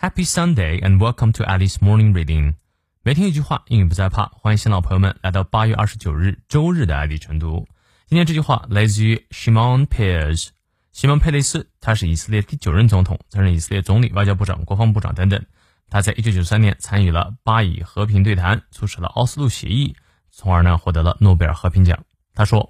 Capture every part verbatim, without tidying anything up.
Happy Sunday and welcome to Alice Morning Reading。每天一句话，英语不再怕。欢迎新老朋友们来到八月二十九日周日的爱丽晨读。今天这句话来自于 Shimon Peres。西蒙·佩雷斯，他是以色列第九任总统，曾任以色列总理、外交部长、国防部长等等。他在一九九三年参与了巴以和平对谈，促使了奥斯陆协议，从而呢获得了诺贝尔和平奖。他说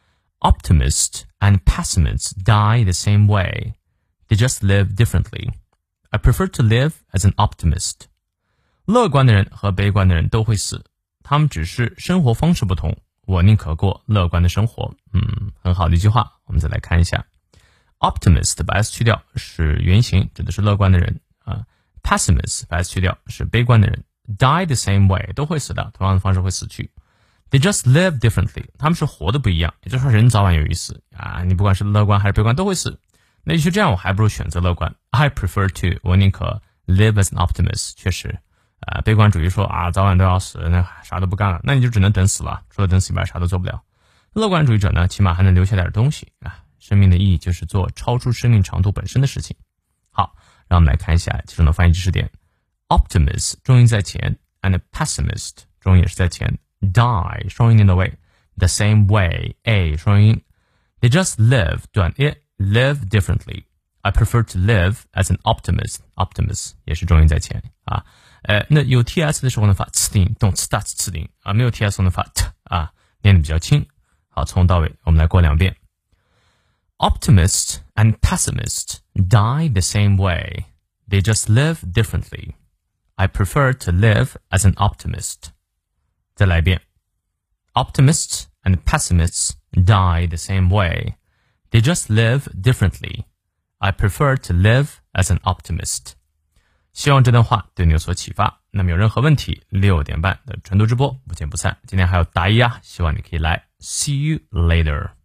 Optimists and pessimists die the same way. They just live differently.I prefer to live as an optimist. 乐观的人和悲观的人都会死，他们只是生活方式不同。我宁可过乐观的生活。嗯，很好的一句话。我们再来看一下 ，optimist 把 s 去掉是原型，指的是乐观的人啊。pessimist 把 s 去掉是悲观的人。Die the same way 都会死的，同样的方式会死去。They just live differently. 他们是活的不一样，也就是说人早晚有一死啊。你不管是乐观还是悲观都会死。那与其这样，我还不如选择乐观。I prefer to， 我宁可 live as an optimist。确实，呃，悲观主义说啊，早晚都要死，那啥都不干了，那你就只能等死了，除了等死以外，啥都做不了。乐观主义者呢，起码还能留下点东西啊。生命的意义就是做超出生命长度本身的事情。好，让我们来看一下其中的翻译知识点。Optimist 重音在前 ，and pessimist 重音也是在前。Die 双音念到位 ，the same way a 双音。They just live 短 it。Live differently. I prefer to live as an optimist. Optimist 也是重音在前啊。呃，那有 ts 的时候呢，发 ts 音，动 ts 大 ts 音啊，没有 ts 呢发 t 啊，念得比较轻。好，从头到尾我们来过两遍。Optimists and pessimists die the same way. They just live differently. I prefer to live as an optimist. 再来一遍。Optimists and pessimists die the same way.They just live differently. I prefer to live as an optimist. 希望这段话对你有所启发。那么有任何问题，六点半的晨读直播不见不散。今天还有答疑啊，希望你可以来。See you later.